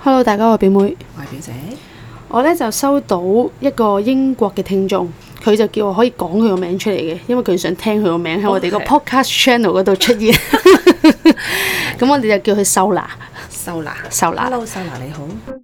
Hello， 大家好，我係表妹， 我係表姐。 我咧就收到一個英國嘅聽眾，佢就叫我可以講佢個名出嚟嘅，因為佢想聽佢個名喺我哋個 podcast channel 嗰度出現。咁我哋就叫佢秀娜。 秀娜。 Hello， 秀娜你好。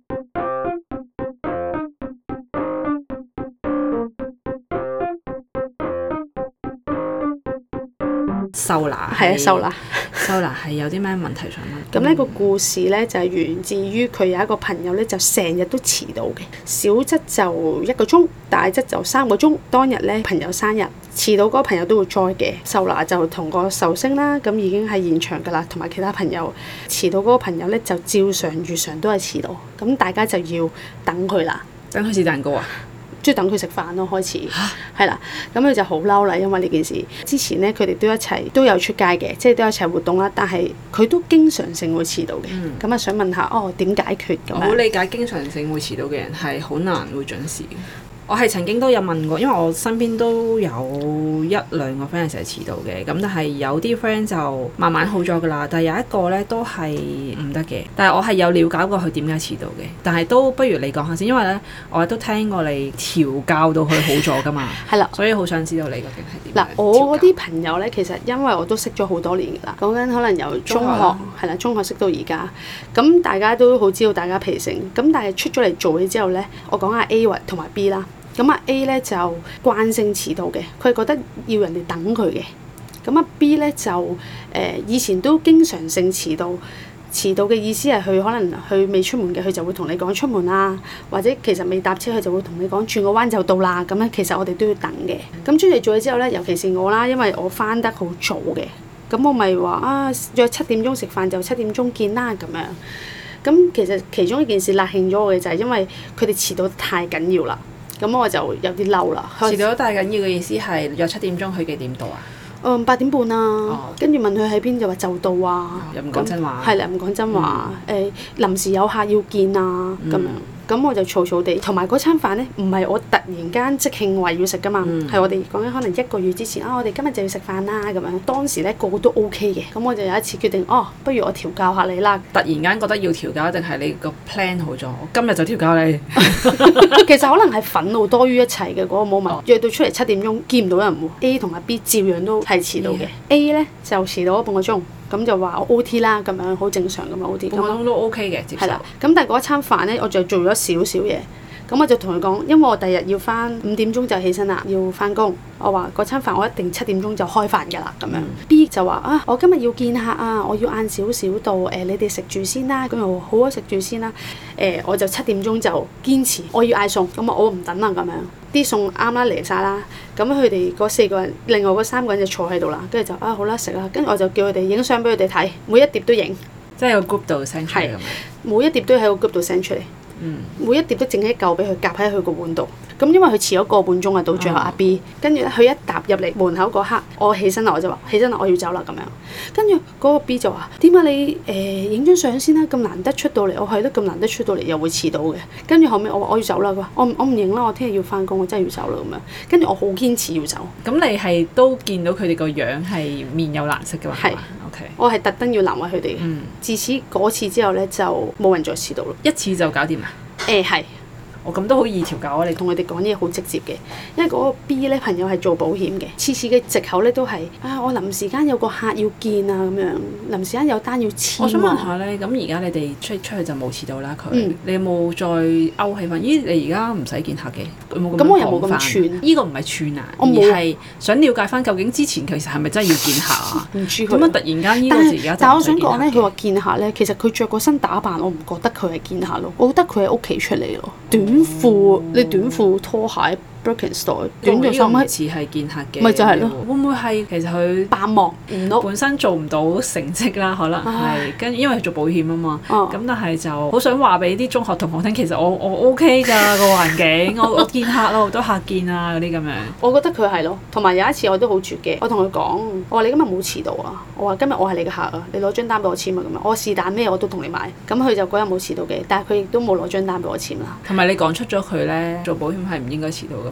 秀娜係啊，秀娜。秀娜係有啲咩問題想問？ 咁呢個故事咧就係源自於佢有一個朋友咧就成日都遲到嘅，小則就1個鐘，大則就3個鐘。當日咧朋友生日，遲到嗰個朋友都會載嘅。秀娜就同個壽星啦，咁已經喺現場噶啦，同埋其他朋友。遲到嗰個朋友咧就照常如常都係遲到，咁大家就要等佢啦。 等佢食蛋糕啊？ 即係等佢食飯咯，開始係啦，咁佢就好嬲啦，因為呢件事之前咧，佢哋都一齊都有出街嘅，即係都有一齊活動啦。但係佢都經常性會遲到嘅，咁啊想問下點解決咁樣？ 我好理解經常性會遲到嘅人係好難會準時嘅。我係曾經都有問過，因為我身邊都有1-2個 friend 成日遲到嘅，咁但係有啲 friend 就慢慢好咗噶啦，但係有一個咧都係唔得嘅。但係我係有了解過佢點解遲到嘅，但係都不如你講下先，因為咧我都聽過你調教到佢好咗噶嘛，係啦，所以好想知道你究竟係點。嗱， 我嗰啲朋友咧，其實因為我都識咗好多年噶啦，講緊可能由中學係啦，中學識到而家，咁大家都好知道大家脾性，咁但係出咗嚟做嘢之後咧，我講下 A 同埋 B 啦。咁啊 A 咧就慣性遲到嘅，佢係覺得要人哋等佢嘅。咁啊 B 咧就以前都經常性遲到。遲到嘅意思係佢可能佢未出門嘅，佢就會同你講出門啦，或者其實未搭車佢就會同你講轉個彎就到啦。咁咧其實我哋都要等嘅。咁出嚟做嘢之後咧，尤其是我啦，因為我返得好早嘅，咁我咪話約7點鐘食飯就7點鐘見啦咁樣。咁其實其中一件事辣興咗我嘅就係因為佢哋遲到得太緊要啦。咁我就有啲嬲啦。 遲到太緊要嘅意思係約7點鐘，佢幾點到啊 ？8點半啊，跟住問佢喺邊就話就到啊。 又唔講真話。 係啦，唔講真話。臨時有客要見啊，咁樣。咁我就嘈嘈地，同埋嗰餐飯咧，唔係我突然間即興話要食噶嘛，係我哋講緊可能1個月之前我哋今日就要食飯啦咁樣。當時咧個個都 OK 嘅，咁我就有一次決定，不如我調教下你啦。 突然間覺得要調教，定係你個 plan 好咗？我今日就調教你。 其實可能係憤怒多於一切嘅嗰個 moment。約到出嚟7點鐘，見唔到人喎。A 同埋 B 照樣都係遲到嘅。A 咧就遲到咗半個鐘。咁就話我 OT 啦，咁樣好正常咁樣 OT。 半個鐘都 OK 嘅，接受。係啦， 咁但係嗰餐飯咧，我就做咗少少嘢。咁我就同佢講，因為我第日要翻5點鐘就起身啦，要翻工。我話嗰餐飯我一定7點鐘就開飯㗎啦，咁樣。B 就話我今日要見客啊，我要晏少少到，你哋食住先啦。咁又好啊，食住先啦。我就7點鐘就堅持我要嗌餸，咁我唔等啦咁樣。啲餸啱啦嚟晒啦，咁佢哋嗰4個人，另外嗰3個人就坐喺度啦，跟住就好啦食啦，跟住我就叫佢哋影相俾佢哋睇，每一碟都影， 即係喺個 group 度 send 出嚟咁樣。 每一碟都喺個 group 度 send 出嚟，每一碟都整一嚿俾佢夾喺佢個碗度。咁因為佢遲咗個半鐘啊，到最後阿 B，跟住咧佢一踏入嚟門口嗰刻，我起身啦，我就話起身啦，我要走啦咁樣。跟住嗰個 B 就話：點解你影張相先啦？咁難得出到嚟，我係咯咁難得出到嚟又會遲到嘅。跟住後尾我話我要走啦，佢話我唔影啦，我聽日要翻工，我真係要走啦咁樣。跟住我好堅持要走。 咁你係都見到佢哋個樣係面有難色嘅嘛？係。OK。我係特登要難為佢哋。自此嗰次之後咧，就冇人再遲到啦。 一次就搞掂啊？ 係。 咁都好易調教啊！你同佢哋講嘢好直接嘅，因為嗰個 B 咧朋友係做保險嘅，次次嘅藉口咧都係我臨時間有個客要見啊咁樣，臨時間有單要簽。 我想問下咧，咁而家你哋出去就冇遲到啦佢，你有冇再勾起翻？咦，你而家唔使見客嘅， 咁我又冇咁串。 呢個唔係串啊，而係想了解翻究竟之前其實係咪真係要見客啊？ 唔知佢點解突然間呢個時間？ 但係我想講咧，佢話見客咧，其實佢着個身打扮，我唔覺得佢係見客咯，我覺得佢喺屋企出嚟咯，短褲，你短褲拖鞋。Birkenstock 短咗3米， 似係見客嘅， 咪就係咯。 會唔會係其實佢扮忙唔到， 本身做唔到成績啦？可能係跟住因為佢做保險啊嘛。咁但係就好想話俾啲中學同學聽，其實我 OK 㗎個環境，我見客咯，好多客見啊嗰啲咁樣。 我覺得佢係咯，同埋有一次我都好絕嘅，我同佢講，我話你今日冇遲到啊，我話今日我係你嘅客啊，你攞張單俾我簽啊咁樣，我是但咩我都同你買。咁佢就嗰日冇遲到嘅，但係佢亦都冇攞張單俾我簽啦。 同埋你講出咗佢咧，做保險係唔應該遲到㗎嘛？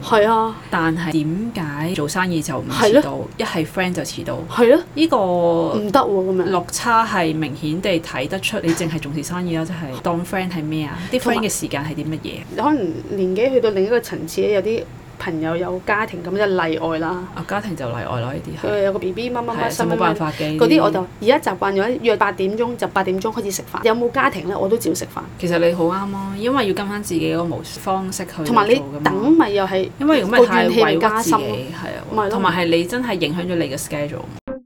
係啊， 但係點解做生意就唔遲到？一係 friend 就遲到。 係咯， 呢個唔得喎咁樣。 落差係明顯地睇得出，你淨係重視生意啦，即係當 friend 係咩啊？啲 friend 嘅時間係啲乜嘢？ 可能年紀去到另一個層次咧，有啲朋友有家庭咁就例外啦。 家庭就例外咯，呢啲佢有個 BB 乜乜乜， 就冇辦法嘅。 嗰啲我就而家習慣咗約8點鐘就8點鐘開始食飯。有冇家庭咧，我都照食飯。 其實你好啱咯，因為要跟翻自己嗰個模式方式去做。 同埋你等咪又係因為如果咪太委屈自己，係啊，同埋係你真係影響咗你嘅 schedule。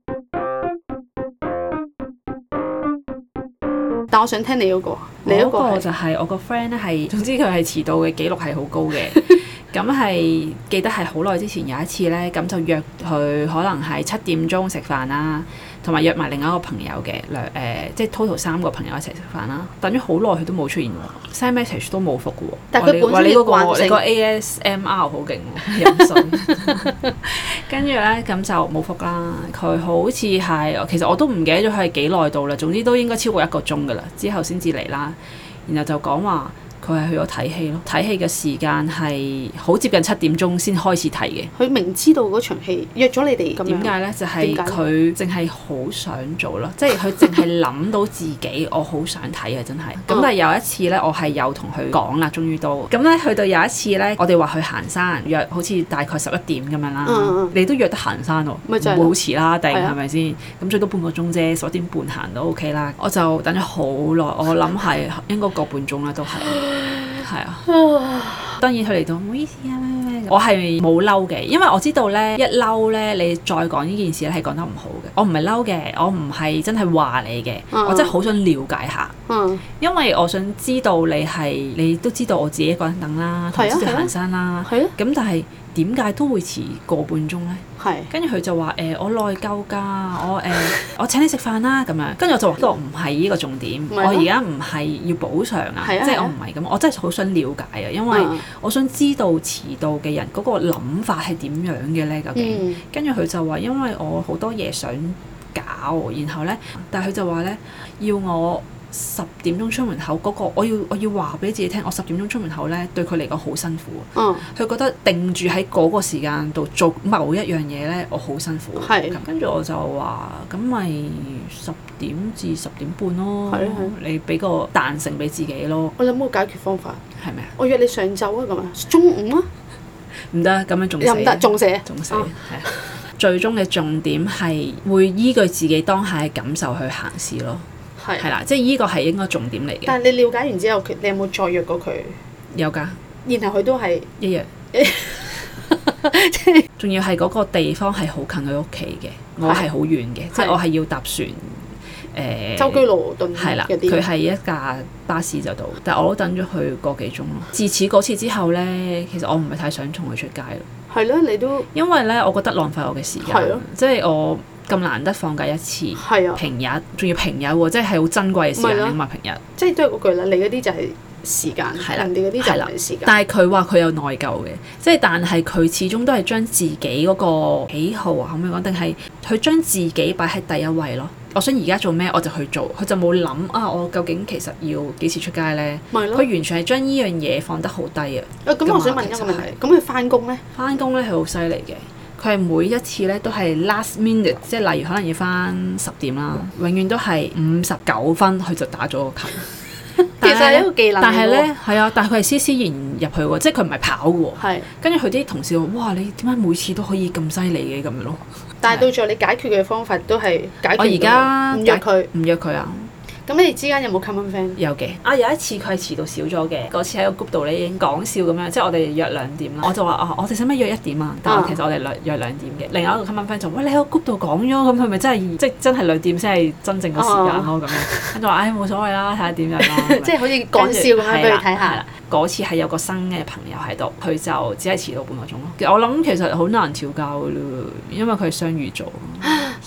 但我想聽你嗰個，你嗰個就係我個 friend 咧，係總之佢係遲到嘅記錄係好高嘅。咁係記得係好耐之前有一次咧，咁就約佢可能係7點鐘食飯啦，同埋約埋另外一個朋友嘅即係 total 3個朋友一齊食飯啦。等咗好耐佢都冇出現喎，send message 都冇覆嘅喎。 但係佢本身你個 ASMR 好勁喎，飲水。跟住咧咁就冇覆啦。佢好似係其實我都唔記得咗佢係幾耐到啦。總之都應該超過1個鐘㗎啦，之後先至嚟啦。然後就講話。佢係去咗睇戲咯，睇戲嘅時間係好接近7點鐘先開始睇嘅。佢明知道嗰場戲約咗你哋咁樣。 點解咧？就係佢淨係好想做咯，即係佢淨係諗到自己，我好想睇啊！真係。咁但係有一次咧，我係有同佢講啦，終於都咁咧，去到有一次咧，我哋話去行山，約好似大概11點咁樣啦。你都約得行山喎，唔會好遲啦，定係咪先？咁最多半個鐘啫，11點半行都 OK 啦。我就等咗好耐，我諗係應該個半鐘啦，都係。係啊，當然佢嚟到唔好意思啊，我係冇嬲嘅，因為我知道咧一嬲咧，你再講呢件事咧係講得唔好嘅。我唔係嬲嘅，我唔係真係話你嘅，我真係好想了解下，因為我想知道你都知道我自己一個人等啦，同埋行山啦，咁但係點解都會遲個半鐘咧？跟住佢就話我內疚㗎，我請你食飯啦咁樣。跟住我就話，唔係呢個重點，我而家唔係要補償啊，即係我唔係咁，我真係好想了解啊，因為我想知道遲到嘅人嗰個諗法係點樣嘅咧，究竟。跟住佢就話，因為我好多嘢想搞，然後咧，但係佢就話咧要我10點鐘出門口嗰個，我要話俾自己聽，我10點鐘出門口咧，對佢嚟講好辛苦。佢覺得定住喺嗰個時間度做某一樣嘢咧，我好辛苦。跟住我就話，咁咪10點至10點半咯。你俾個彈性俾自己咯。 我諗個解決方法係咩啊？ 我約你上晝啊，咁啊，中午啊，唔得， 咁樣仲死。 又唔得，仲死。係啊。 最終嘅重點係會依據自己當下嘅感受去行事咯。係啦，即係依個係應該重點嚟嘅。但係你了解完之後，你有冇再約過佢？有㗎。然後佢都係一樣。即係仲要係嗰個地方係好近佢屋企嘅，我係好遠嘅，即係我係要搭船。舟車勞頓係啦，佢係一架巴士就到，但係我都等咗佢個幾鐘咯。自此嗰次之後咧，其實我唔係太想同佢出街咯。係咯，你都因為咧，我覺得浪費我嘅時間。即係我咁難得放假一次，平日仲要平日喎，即係好珍貴嘅時間啊嘛！平日即係都係嗰句啦，你嗰啲就係時間，人哋嗰啲就唔係時間。但係佢話佢有內疚嘅，即係但係佢始終都係將自己嗰個喜好啊，可唔可以講？定係佢將自己擺喺第一位咯。我想而家做咩我就去做，佢就冇諗啊！我究竟其實要幾時出街咧？佢完全係將呢樣嘢放得好低啊！咁我想問一個問題，咁佢翻工咧？翻工咧係好犀利嘅，佢係每一次咧都係 last minute，即係例如可能要翻10點啦，永遠都係59分佢就打咗個球。其實係一個技能。但係咧係啊，但係佢係斯斯然入去喎，即係佢唔係跑嘅喎。跟住佢啲同事話：哇！你點解每次都可以咁犀利嘅咁樣咯？但係到最後你解決嘅方法都係解決。我而家唔約佢啊。咁你哋之間有冇 common friend？有嘅。有一次佢係遲到少咗嘅，嗰次喺個 group 度咧已經講笑咁樣，即係我哋約2點啦。我就話我哋使唔使約1點啊？但係其實我哋約2點嘅。另外一個 common friend 就喂，你喺個 group 度講咗，咁佢咪真係即係真係2點先係真正嘅時間咯咁樣。跟住話冇所謂啦，睇下點樣咯。即係好似講笑咁樣俾佢睇下。嗰次係有個新嘅朋友喺度，佢就只係遲到半個鐘咯。我諗其實好難調教嘅咯，因為佢係雙魚座，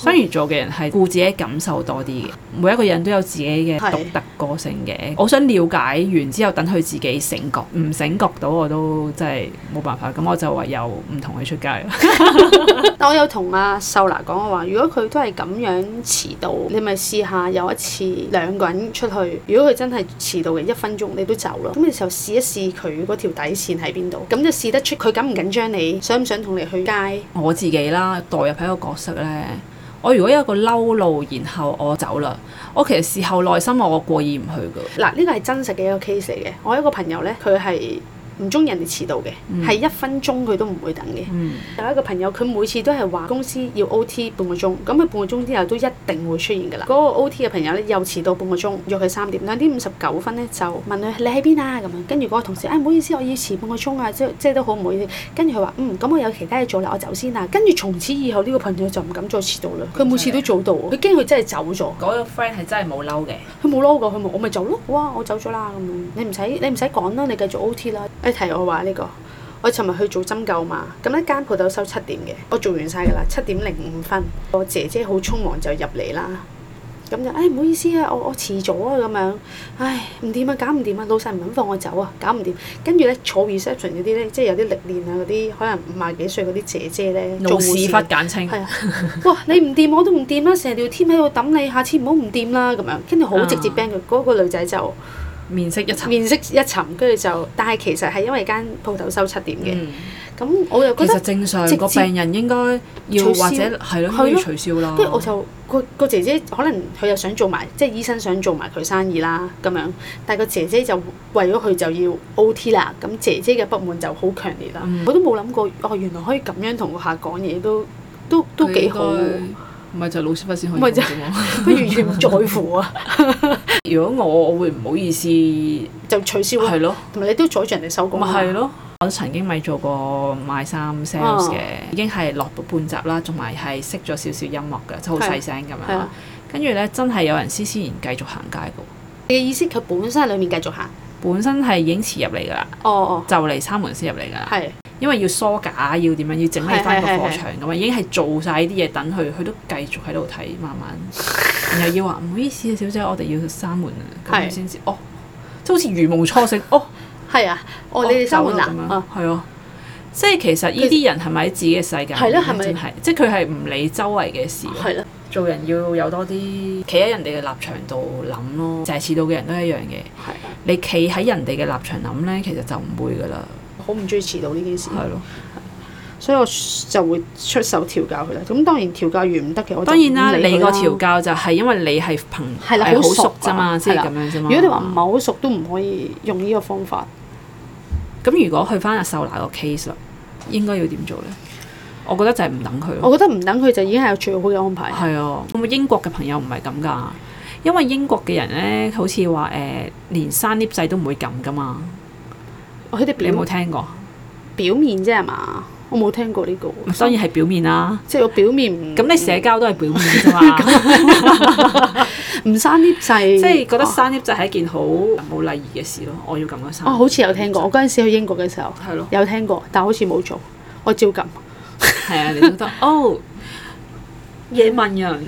雙魚座嘅人係顧自己感受多啲嘅，每一個人都有自己嘅獨特個性嘅。我想了解完之後，等佢自己醒覺，唔醒覺到我都真係冇辦法。咁我就唯有唔同佢出街。 但我有同阿秀娜講，我話如果佢都係咁樣遲到，你咪試下有一次兩個人出去，如果佢真係遲到嘅1分鐘，你都走咯。咁嘅時候試一試佢嗰條底線喺邊度，咁就試得出佢緊唔緊張你，想唔想同你去街。 我自己啦，代入喺個角色咧，我如果有一個嬲路，然後我走啦，我其實事後內心我過意唔去噶。 嗱，呢個係真實嘅一個 case 嚟嘅。我有一個朋友咧，佢係唔中意人哋遲到嘅，係1分鐘佢都唔會等嘅。有一個朋友，佢每次都係話公司要 OT 半個鐘，咁佢半個鐘之後都一定會出現㗎啦。嗰個 OT 嘅朋友咧又遲到半個鐘，約佢3點，2點59分咧就問佢你喺邊啊咁樣，跟住嗰個同事唔好意思，我要遲半個鐘啊，即係都好唔好意思。跟住佢話咁我有其他嘢做啦，我走先啦。跟住從此以後呢個朋友就唔敢再遲到啦。佢每次都早到，佢驚佢真係走咗。 嗰個 friend 係真係冇嬲嘅， 佢冇嬲過，佢冇我咪走咯。哇，我走咗啦咁樣，你唔使趕啦，你繼續 OT 啦。你提我話呢個。我尋日去做針灸嘛，咁一間鋪頭收7點嘅，我做完晒㗎啦，7點05分，我姐姐好匆忙就入嚟啦，咁就唔好意思啊，我遲咗啊咁樣，唔掂啊，搞唔掂啊，老細唔肯放我走啊，搞唔掂，跟住咧坐 reception 嗰啲咧，即係有啲歷練啊嗰啲，可能50幾歲嗰啲姐姐咧， 老屎忽簡稱， 係啊，哇你唔掂我都唔掂啦，成條 team 喺度等你，下次唔好唔掂啦咁樣，跟住好直接 ban 佢，嗰個女仔就。面色一沉，跟住就，但係其實係因為間鋪頭收7點嘅，咁我又覺得其實正常個病人應該要或者係咯，要取消啦。 跟住我就個姐姐可能佢又想做埋，即係醫生想做埋佢生意啦咁樣，但係個姐姐就為咗佢就要 OT 啦，咁姐姐嘅不滿就好強烈啦。我都冇諗過，原來可以咁樣同個客講嘢，都幾好。 唔係就老師傅先可以講啫嘛， 佢完全唔在乎啊！ 如果我會唔好意思就取消咯，係咯，同埋你都阻住人哋收工。 咪係咯，我曾經咪做過賣衫 sales 嘅，已經係落到半集啦，同埋係識咗少少音樂嘅，即係好細聲咁樣。跟住咧，真係有人施施然繼續行街嘅。 你嘅意思佢本身喺裡面繼續行？本身係已經遲入嚟㗎啦。就嚟閂門先入嚟㗎啦。係。因為要梳架，要點樣，要整理翻個貨場咁啊，已經係做晒啲嘢等佢，佢都繼續喺度睇，慢慢，然後要話唔好意思啊，小姐，我哋要閂門啊，咁樣先至，即係好似如夢初醒，係啊，你哋閂門啊，係啊，即係其實呢啲人係咪喺自己嘅世界？係咯，係咪真係？即係佢係唔理周圍嘅事。係咯，做人要有多啲企喺人哋嘅立場度諗咯，就係遲到嘅人都一樣嘅。係啊，你企喺人哋嘅立場諗咧，其實就唔會噶啦。好唔中意遲到呢件事，係咯，所以我就會出手調教佢啦。咁當然調教完唔得嘅，我當然啦，你個調教就係因為你係係好熟啫嘛，先係咁樣啫嘛。如果你話唔係好熟，都唔可以用呢個方法。咁如果去翻阿秀娜個 case 啦，應該要點做咧？我覺得就係唔等佢。我覺得唔等佢就已經係最好嘅安排。係啊，咁英國嘅朋友唔係咁㗎，因為英國嘅人咧，好似話連閂 lift 掣都唔會撳㗎嘛。你有冇聽過？表面啫係嘛？我冇聽過呢個。當然係表面啦。即係我表面唔咁，你社交都係表面啫嘛。唔閂 lift 掣，即係覺得閂 lift 掣係一件好冇禮儀嘅事咯。我要撳嗰閂。好似有聽過。我嗰陣時去英國嘅時候，係咯，有聽過，但好似冇做。我照撳。係啊，你都得。野蠻人。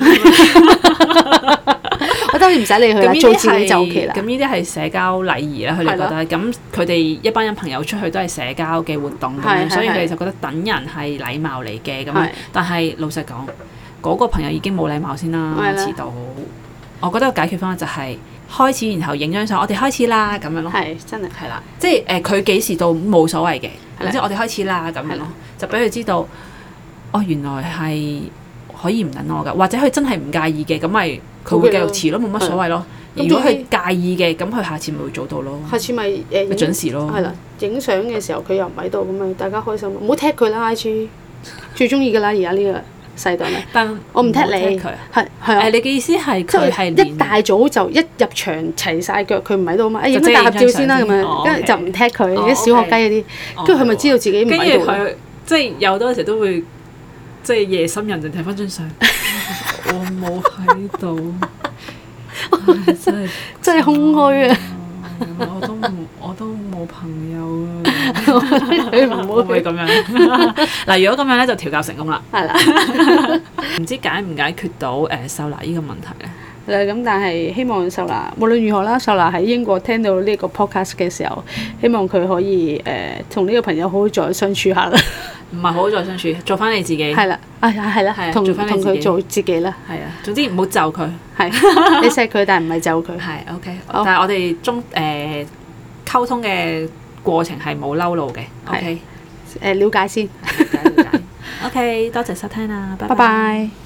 我當然唔使理佢啦，做自己就 OK 啦。咁呢啲係社交禮儀啦，佢哋覺得。咁佢哋一班人朋友出去都係社交嘅活動咁樣，所以佢哋就覺得等人係禮貌嚟嘅咁。但係老實講，嗰個朋友已經冇禮貌先啦，遲到。我覺得個解決方法就係開始，然後影張相，我哋開始啦咁樣咯。係真係係啦，即係佢幾時到冇所謂嘅，即係我哋開始啦咁樣咯，就俾佢知道，原來係可以唔等我㗎，或者佢真係唔介意嘅，咁咪。佢會繼續遲咯，冇乜所謂咯。如果佢介意嘅，咁佢下次咪會早到咯。下次咪準時咯。係啦，影相嘅時候佢又唔喺度，咁咪大家開心。唔好踢佢啦 IG，最中意㗎啦，而家呢個世代咧。但我唔踢你，係啊。你嘅意思係佢係一大早就一入場齊晒腳，佢唔喺度嘛？影張大合照先啦，咁樣跟住就唔踢佢。啲小學雞嗰啲，跟住佢咪知道自己唔喺度。跟住佢即係有多時都會即係夜深人靜睇翻張相。我冇喺度，真係空虛啊！ 我都冇朋友啊，會唔會咁樣？嗱，如果咁樣咧，就調教成功啦。係啦，唔知解唔解決到秀娜呢個問題咧？ 咁但係希望秀娜無論如何啦，秀娜喺英國聽到呢個 podcast 嘅時候，希望佢可以同呢個朋友好好再相處下啦。 唔係好好再相處，做翻你自己。係啦，係啦，同佢做自己啦。 係啊，總之唔好就佢。係， 你錫佢，但係唔係就佢。 係 OK，但係我哋溝通嘅過程係冇嬲怒嘅。OK， 了解先。 了解。OK， 多謝收聽啦，拜拜。